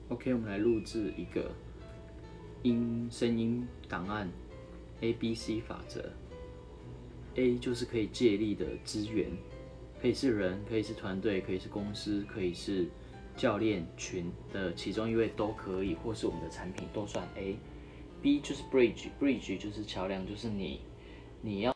OK， 我们来录制一个声音档案 ABC 法则。A 就是可以借力的资源，可以是人，可以是团队，可以是公司，可以是教练群的其中一位都可以，或是我们的产品都算 A。B 就是 bridge 就是桥梁，就是你要